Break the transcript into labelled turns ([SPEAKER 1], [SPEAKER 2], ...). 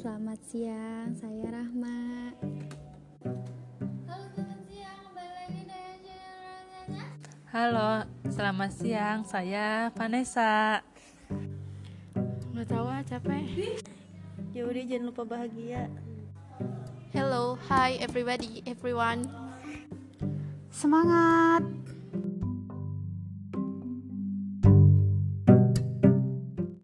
[SPEAKER 1] selamat siang, saya Rahma.
[SPEAKER 2] Halo, selamat siang, kembali lagi dengan channel.
[SPEAKER 3] Halo, selamat siang, saya Vanessa.
[SPEAKER 1] Nggak tahu capek.
[SPEAKER 4] Ya udah, jangan lupa bahagia.
[SPEAKER 2] Hello, hi everybody, everyone.
[SPEAKER 1] Semangat.